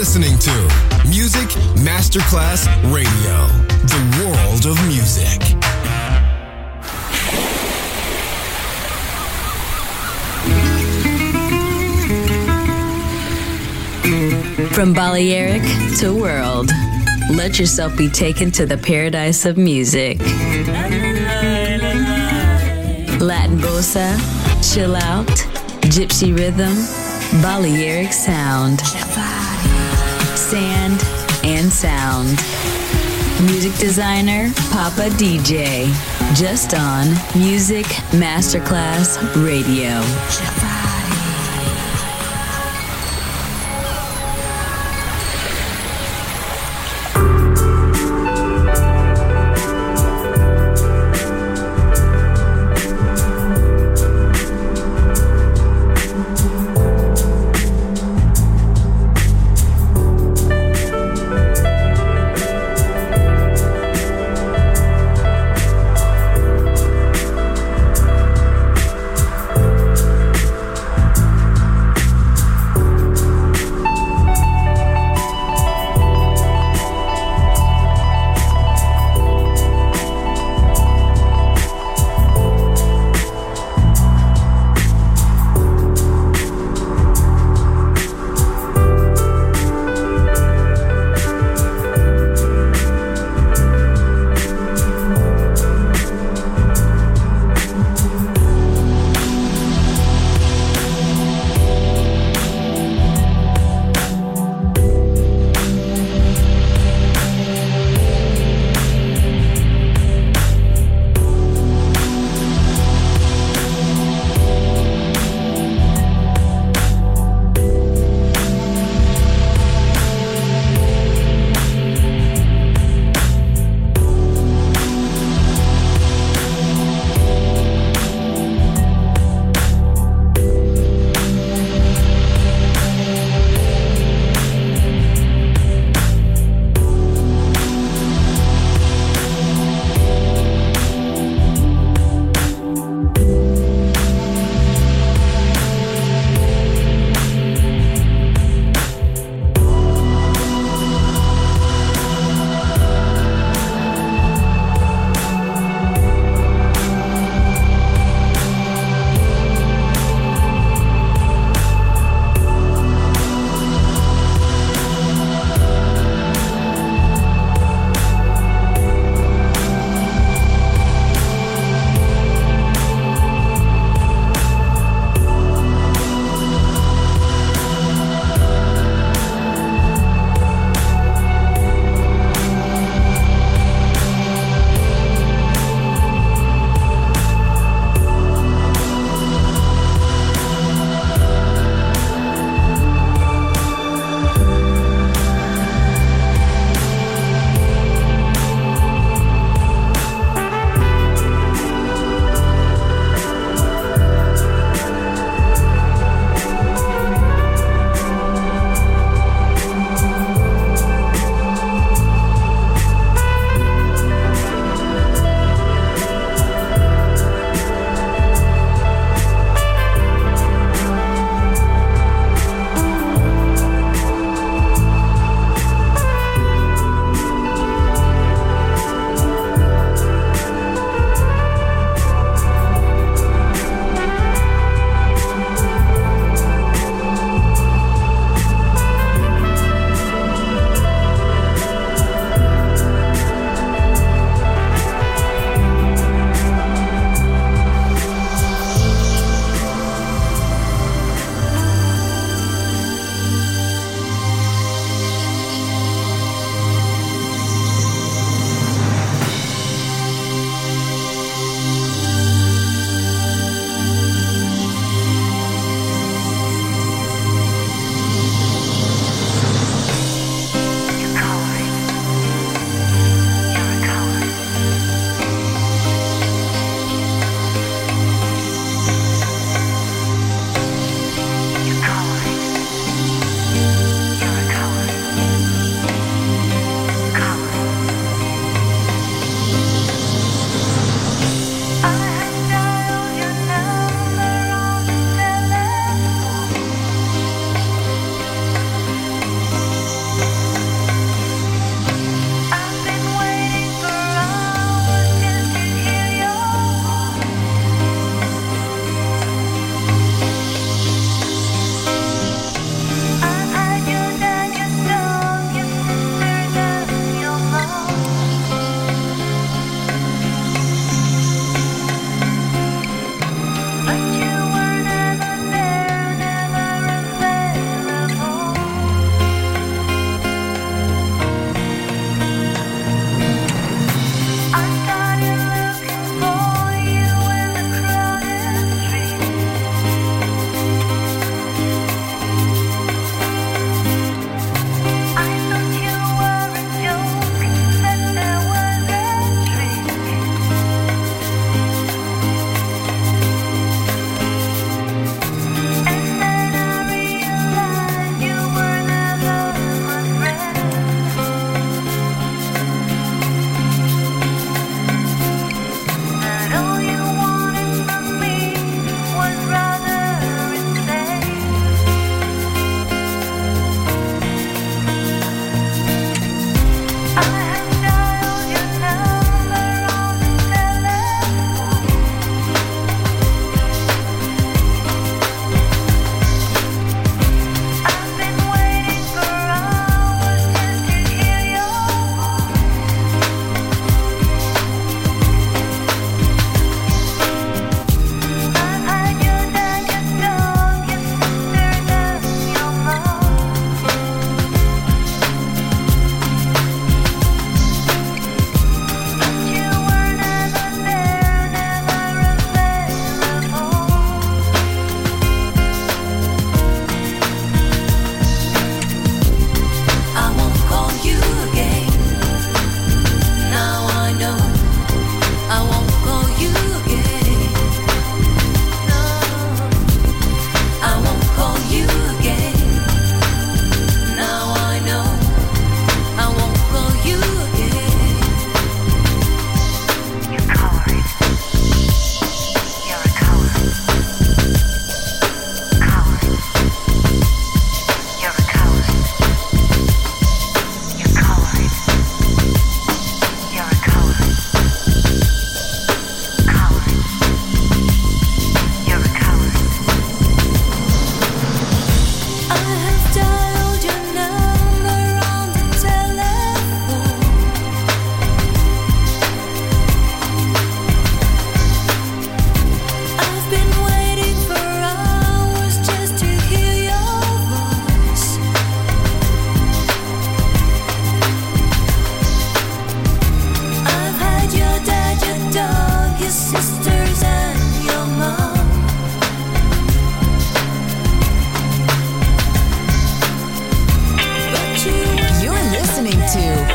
listening to Music Masterclass Radio, the world of music. From Balearic to world, let yourself be taken to the paradise of music. Latin bossa, chill out, gypsy rhythm, Balearic sound, sand and sound. Music designer, Papa DJ, just on Music Masterclass Radio.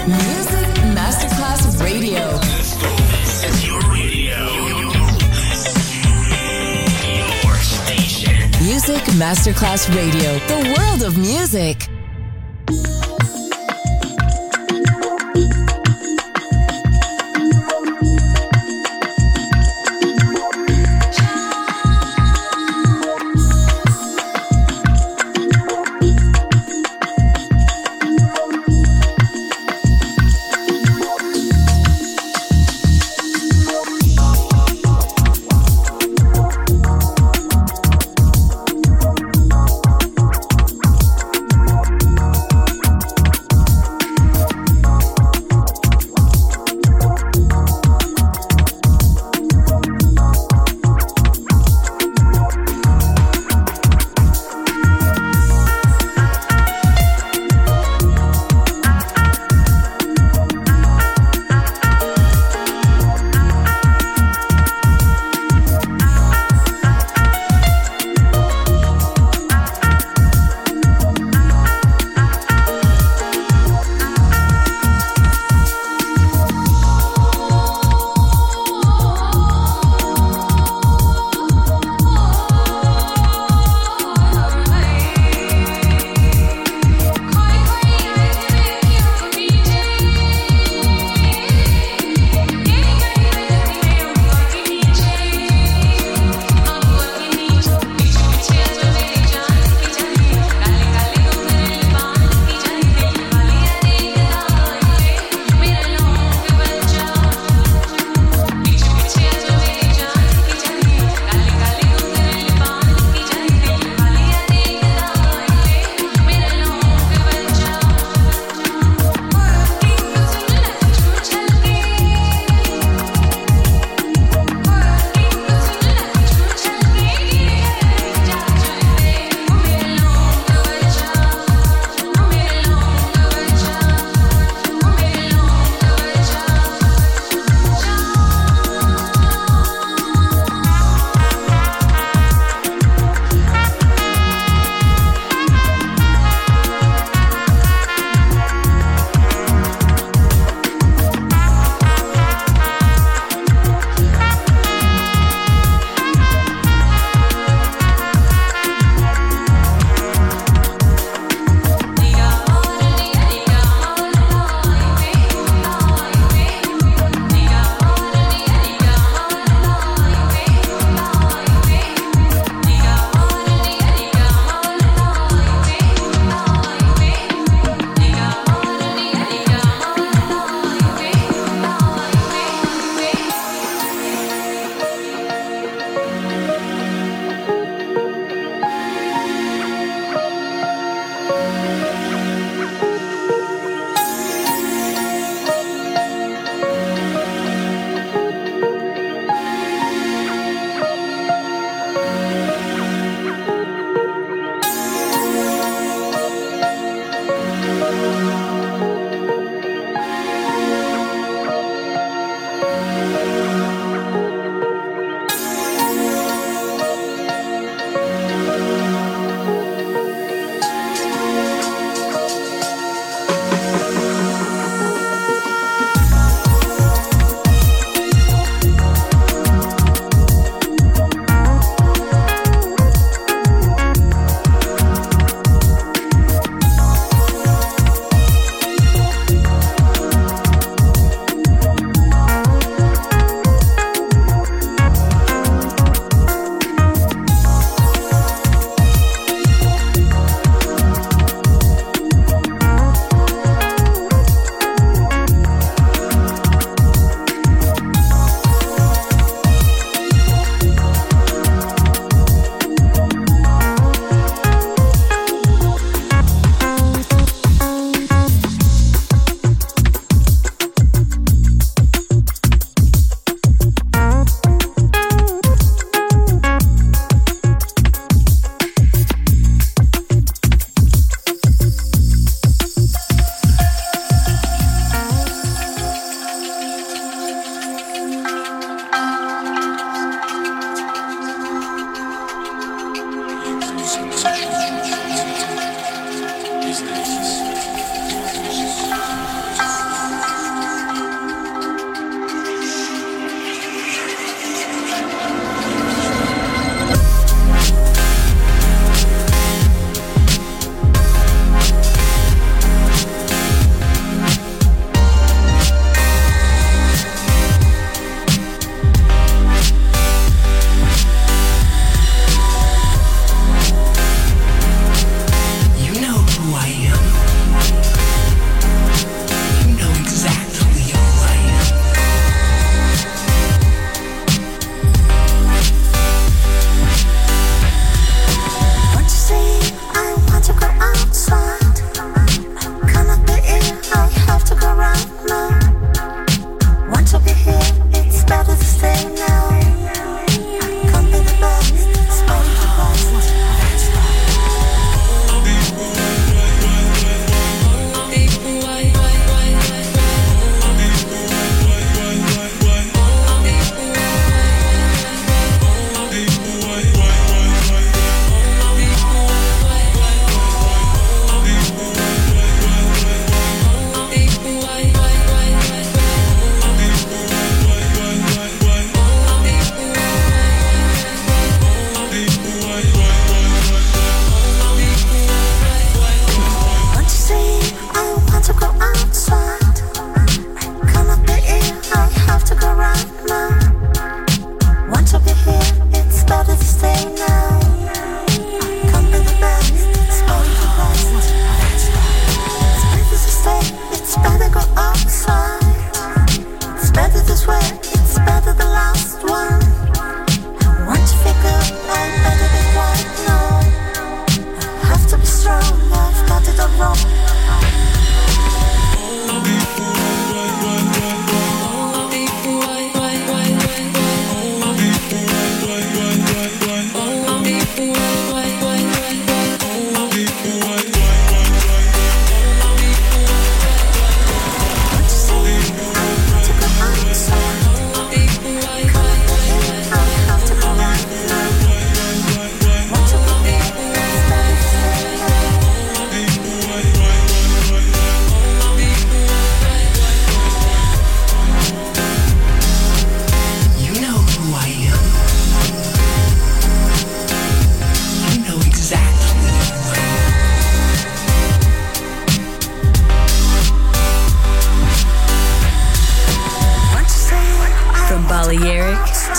Masterclass Radio. This is your radio. Your station. Music Masterclass Radio. The world of music.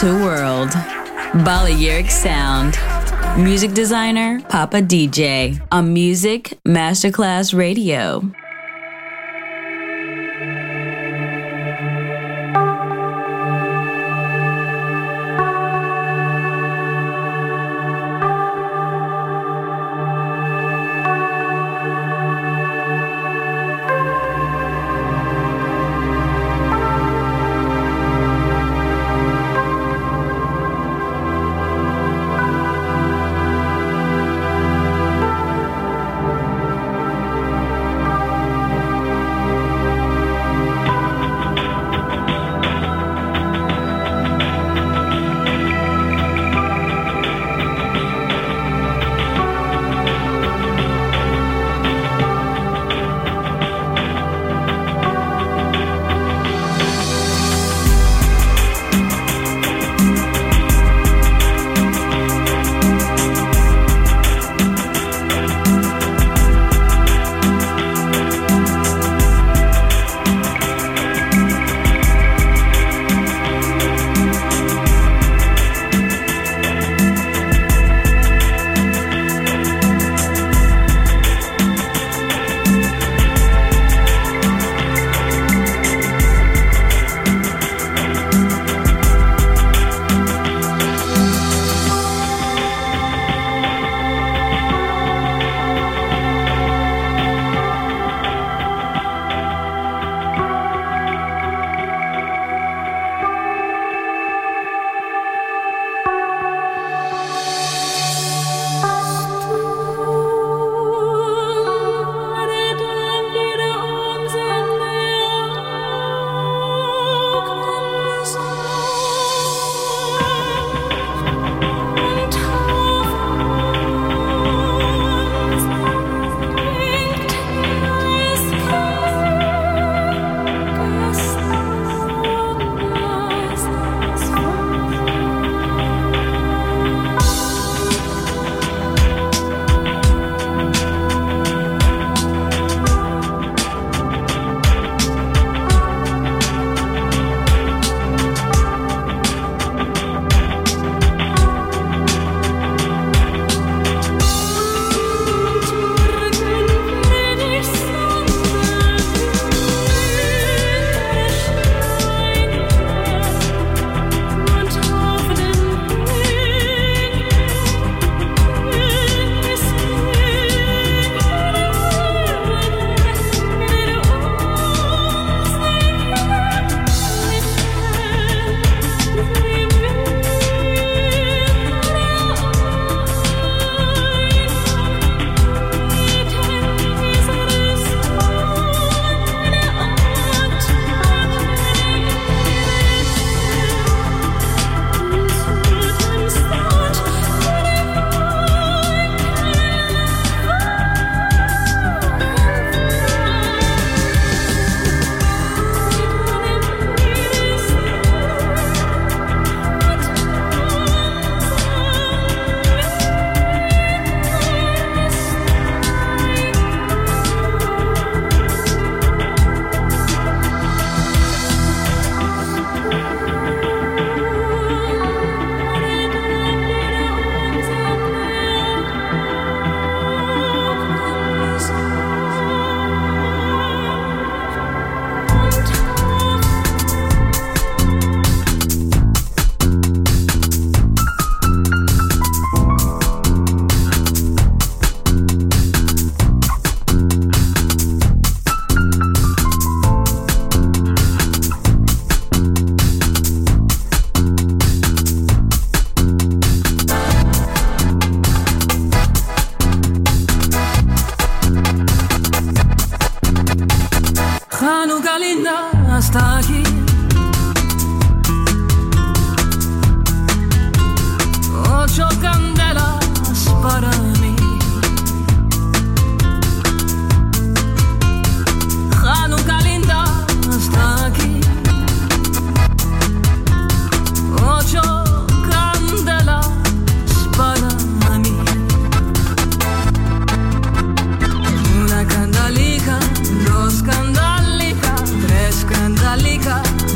to world. Balearic Sound. Music designer, Papa DJ. On Music Masterclass Radio. hasta aquí. Ocho candelas para mí. Hanukkah linda hasta aquí. Ocho candelas para mí. Una candalica, dos candalica, tres candalica,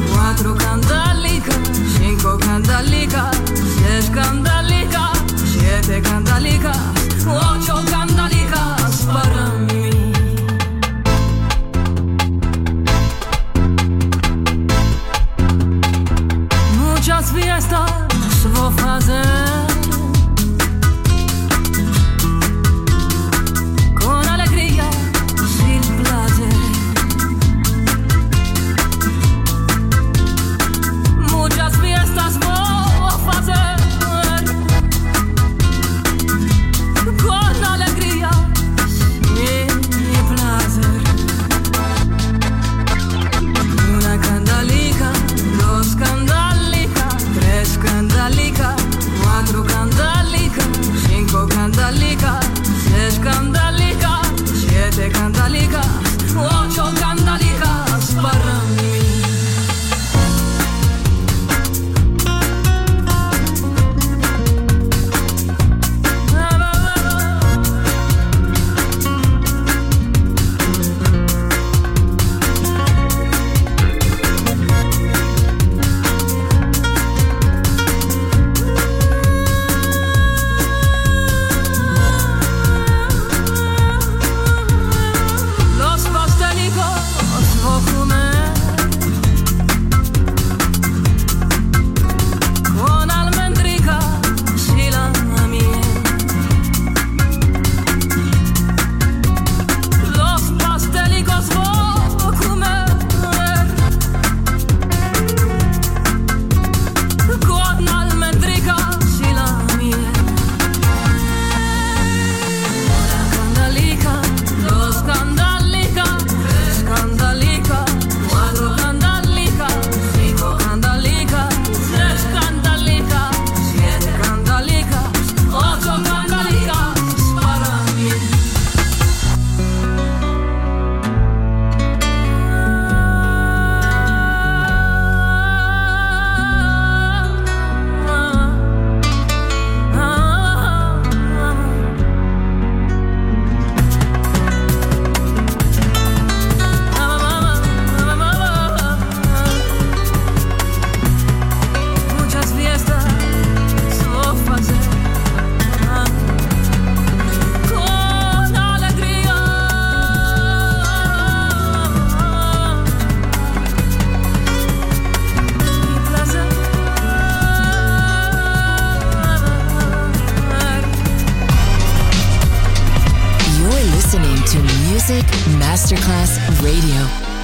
Masterclass Radio.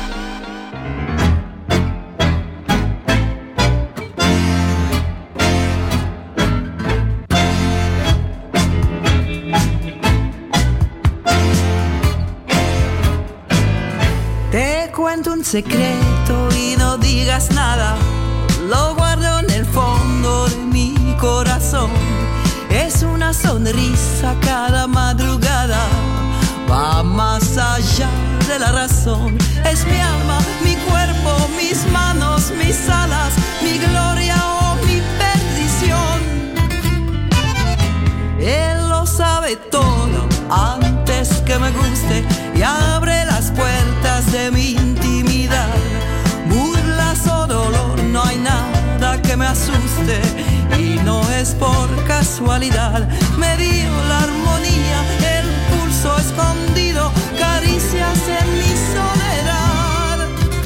Te cuento un secreto y no digas nada. Lo guardo en el fondo de mi corazón. Es una sonrisa cada madrugada. Va más allá de la razón. Es mi alma, mi cuerpo, mis manos, mis alas, mi gloria o mi perdición. Él lo sabe todo antes que me guste y abre las puertas de mi intimidad. Burlas o dolor, no hay nada que me asuste y no es por casualidad. Me dio la armonía, el pulso escondido, caricias en mi soledad.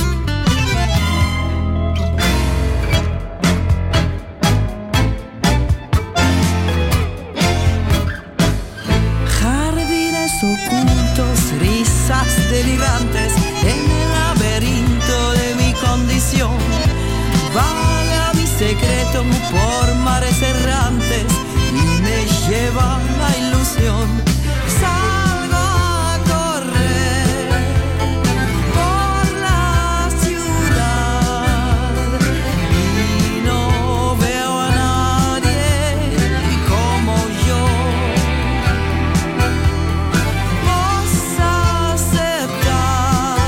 Jardines ocultos, risas delirantes en el laberinto de mi condición. Vaga mi secreto por mares errantes y me lleva la ilusión. Salgo a correr por la ciudad y no veo a nadie como yo. Vos aceptás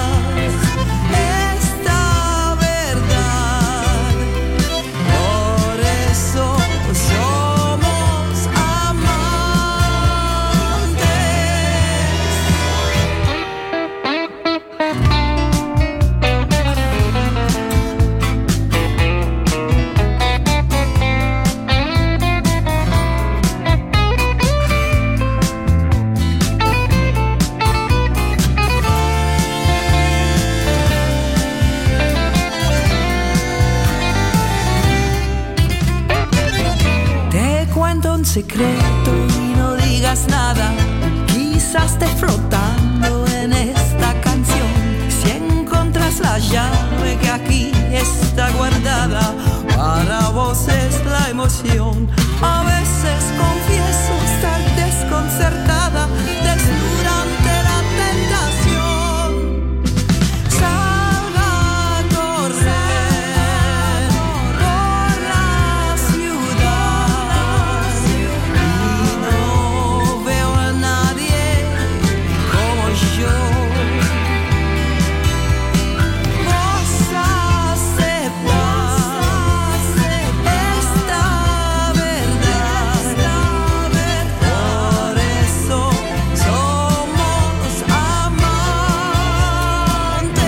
esta verdad, por eso somos amantes. Te cuento un secreto y no digas nada. Quizás esté flotando en esta canción. Si encontras la llave que aquí está guardada, para vos es la emoción. A veces confieso estar desconcertada, desnuda ante la tentación. Salga a correr por la ciudad y no veo a nadie como yo. Vos aceptás esta verdad, por eso somos amantes.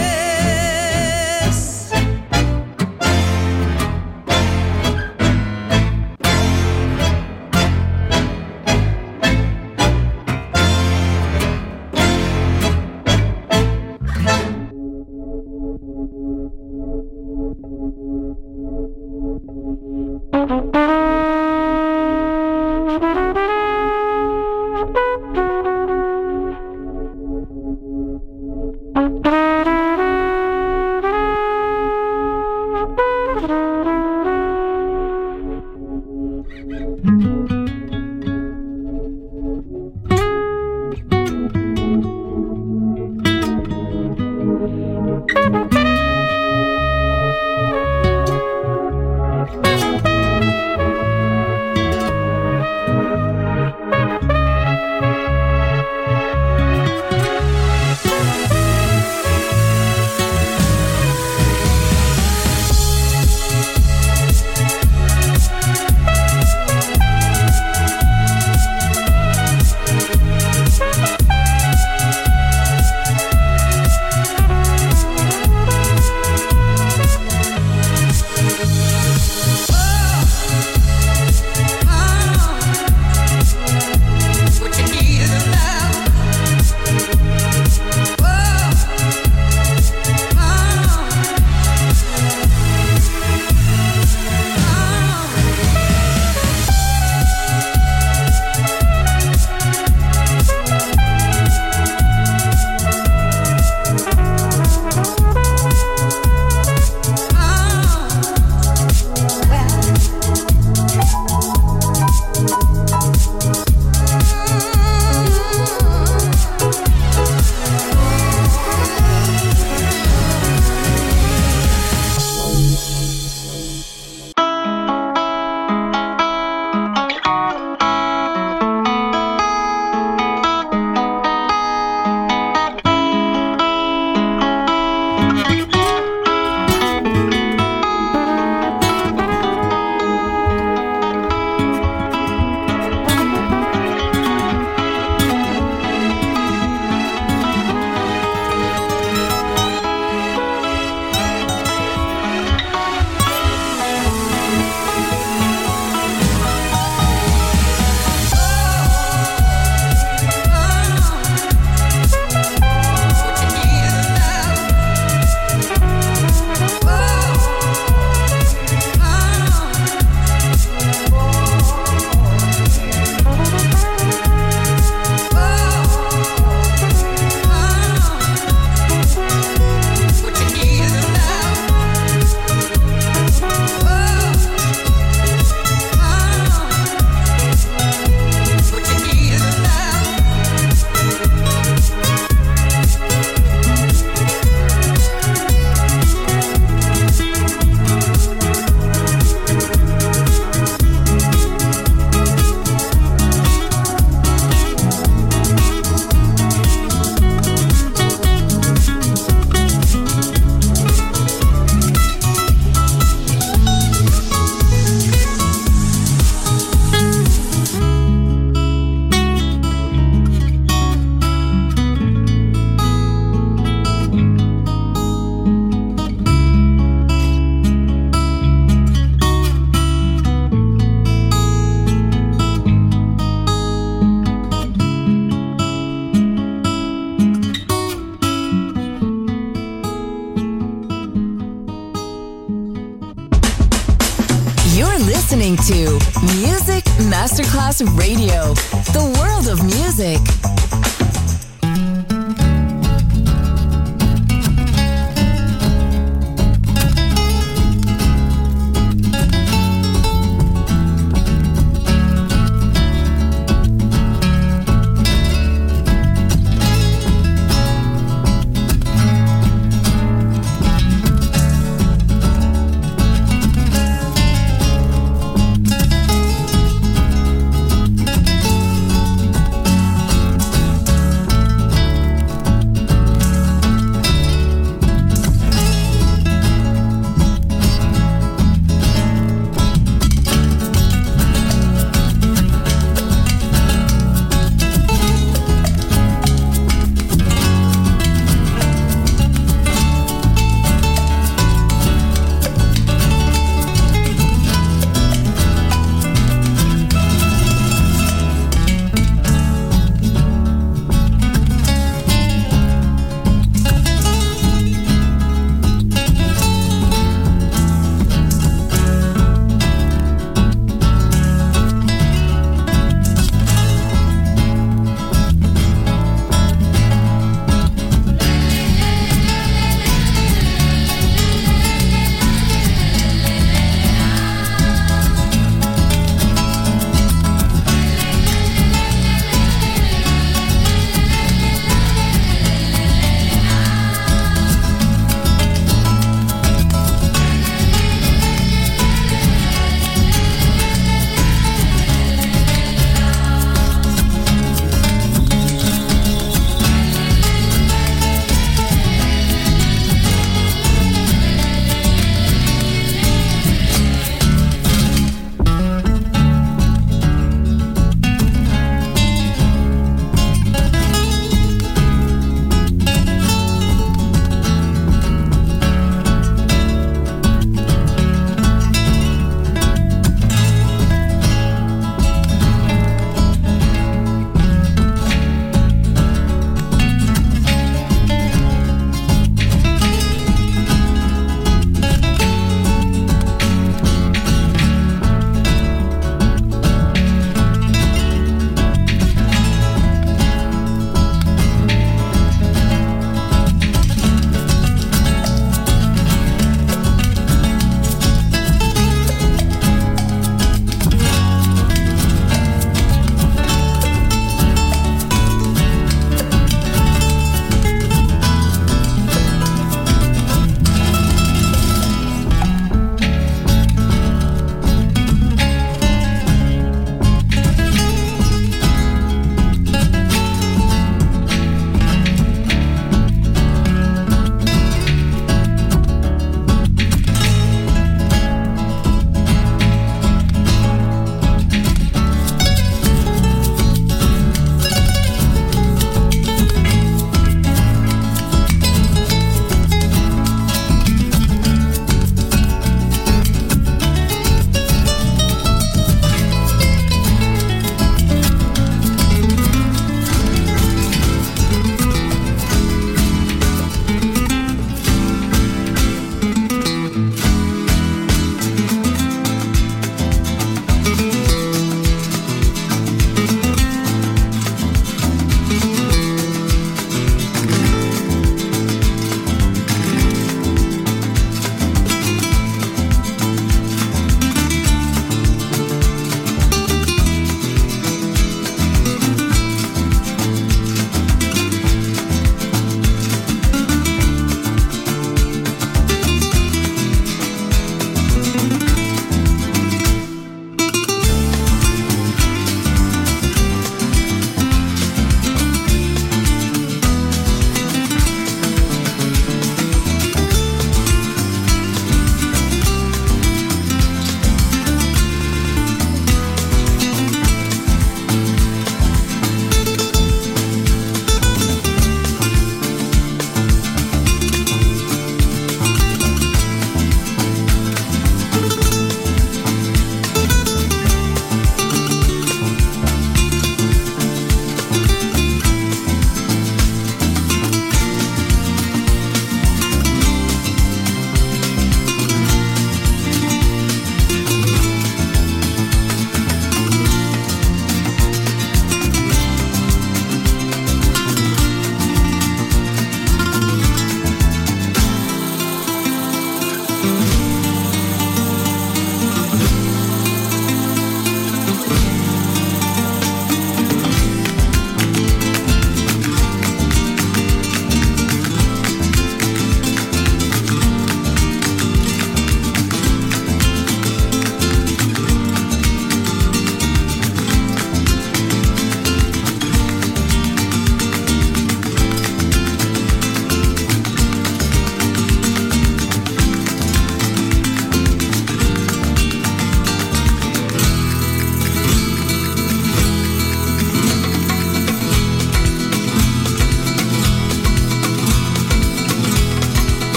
to Music Masterclass Radio, the world of music.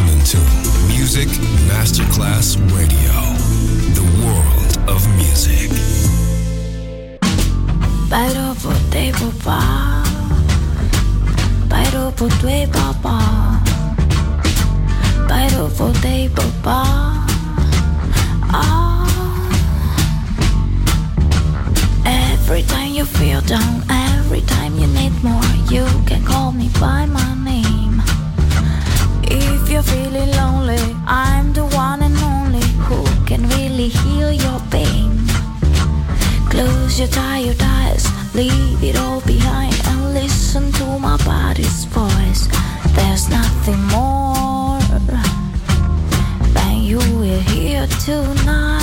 listening to Music Masterclass Radio, the world of music. Bairo potei papà, bairo potei papà, bairo potei papà. Every time you feel down, every time you need more, you can call me by my name. If you're feeling lonely, I'm the one and only who can really heal your pain. Close your tired eyes, leave it all behind and listen to my body's voice. There's nothing more than you will hear tonight.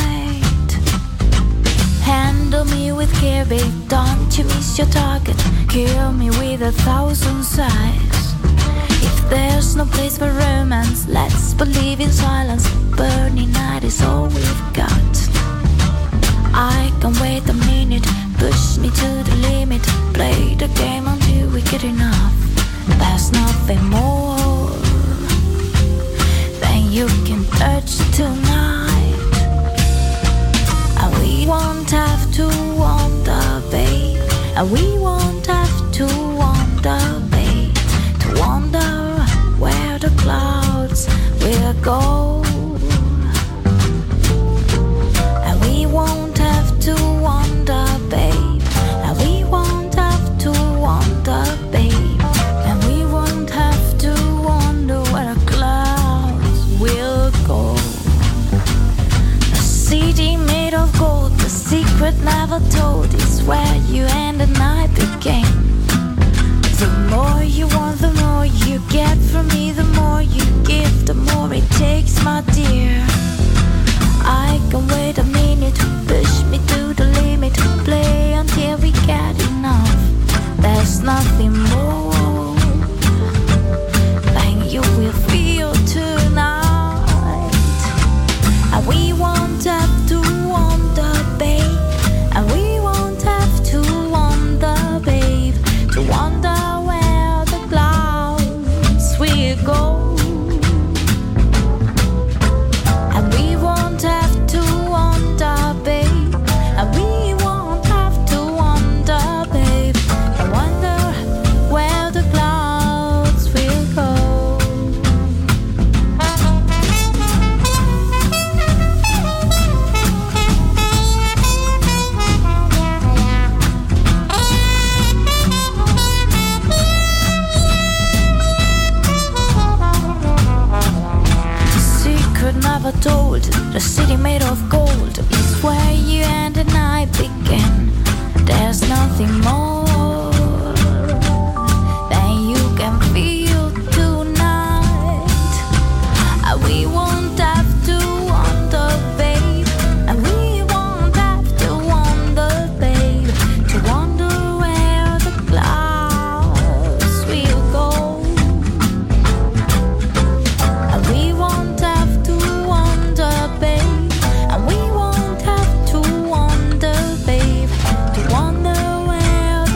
Handle me with care, babe, don't you miss your target. Kill me with 1,000 sighs. If there's no place for romance, let's believe in silence. Burning night is all we've got. I can wait a minute, push me to the limit. Play the game until we get enough. There's nothing more than you can touch tonight. And we won't have to wonder, babe. And we won't have to wonder, babe. To wonder where the clouds will go. And we won't have to wonder, babe. And we won't have to wonder, babe. And we won't have to wonder where the clouds will go. A city made of gold, the secret never told, is where you and I began. The more you want, the more you get from me. The more you give, the more it takes, my dear. I can wait a minute, push me to the limit. Play until we get enough. There's nothing more than you will feel tonight. And we won't have to wonder, babe. And we won't have to wonder, babe. To wonder where the clouds will go. And we won't have to wonder, babe. And we won't have to wonder, babe. I wonder where the clouds will go. Secret never told, the city made of gold is where you and I began. There's nothing more than you can feel tonight. And we won't have to wonder, babe. And we won't have to wonder, babe. To wonder where the clouds will go. And we won't have to wonder, babe. And we won't have to wonder, babe. To wonder where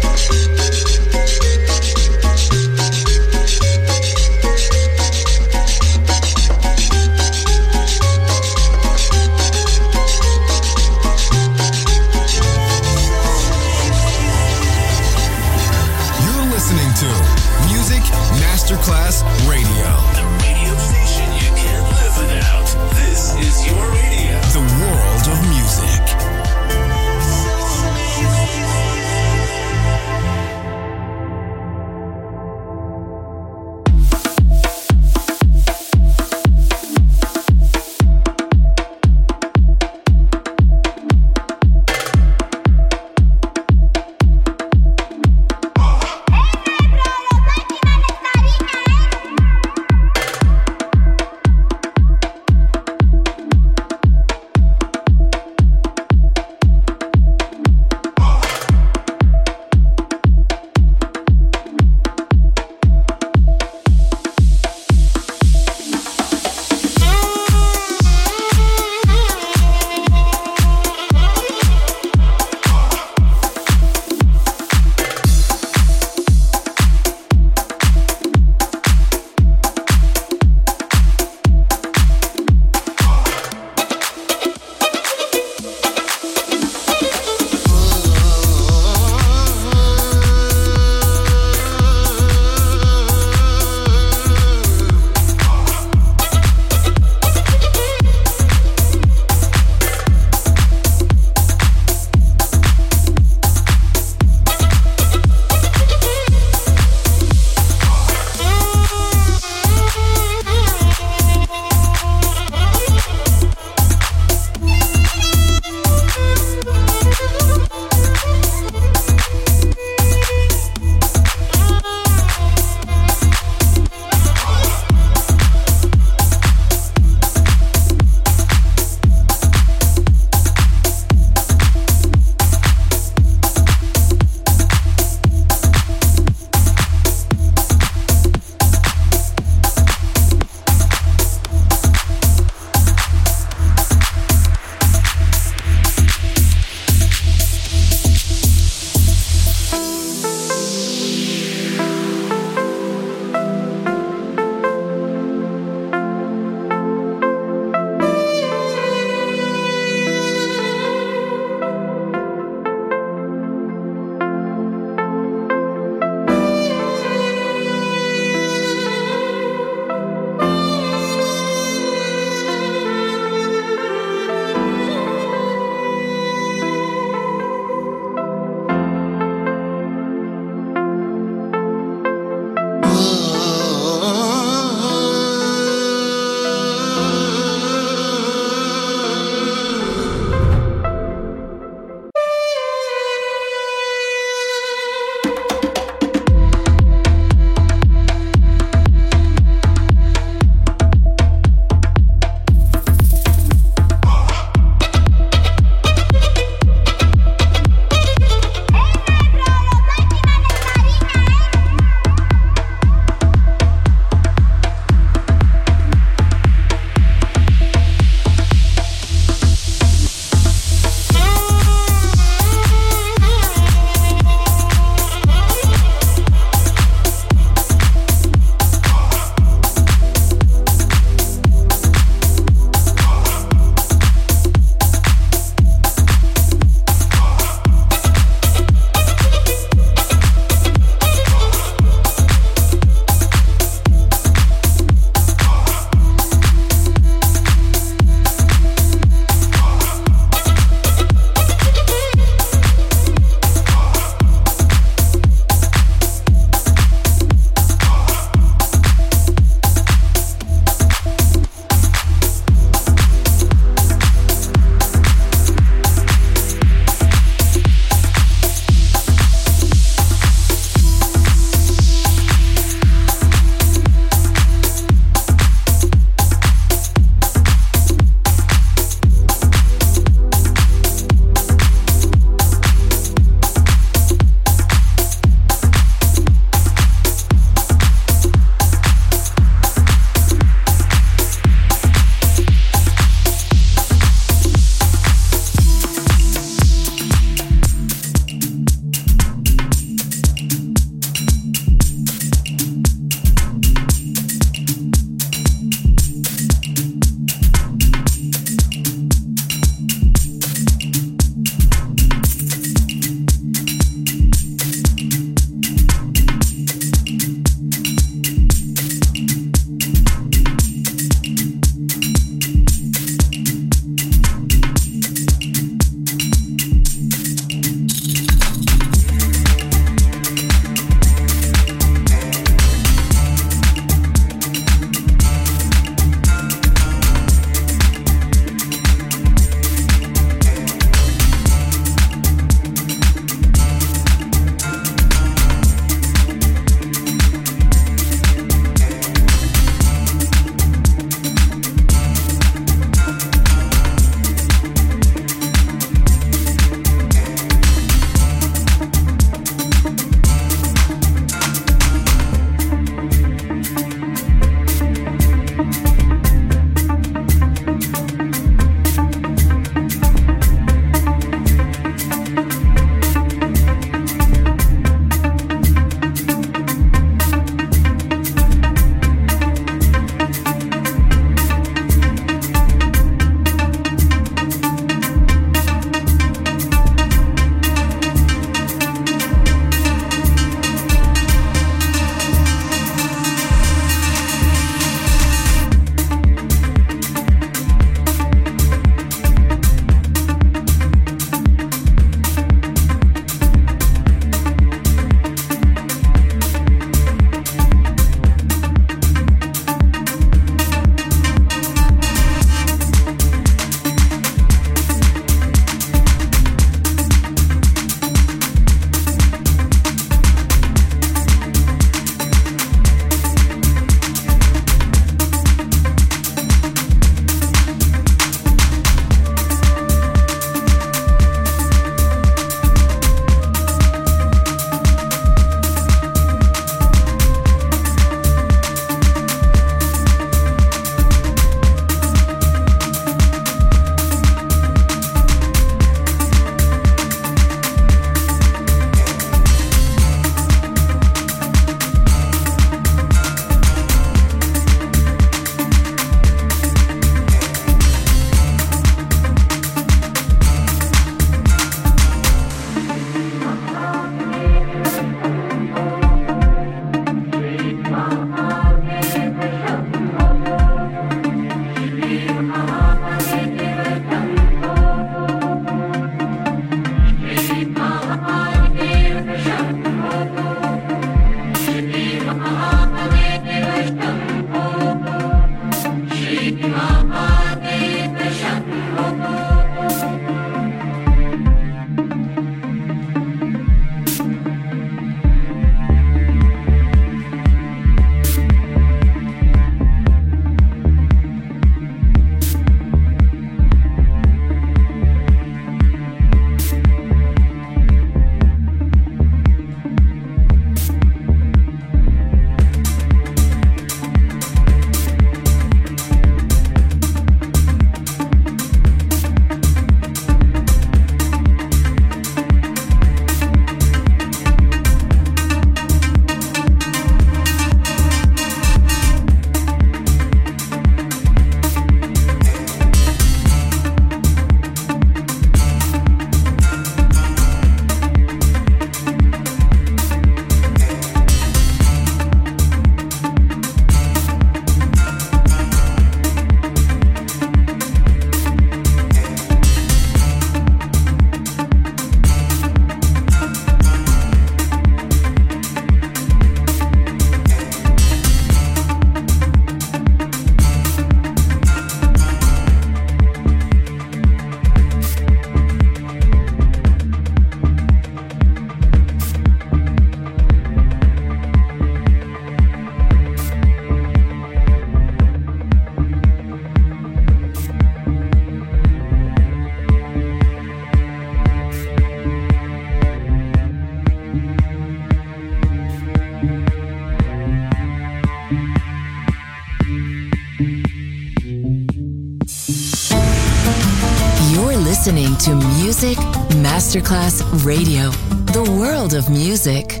listening to Music Masterclass Radio, the world of music.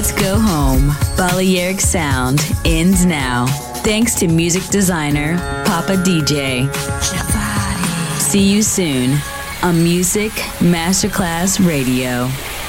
Let's go home. Balearic Sound ends now. Thanks to music designer Papa DJ. See you soon on Music Masterclass Radio.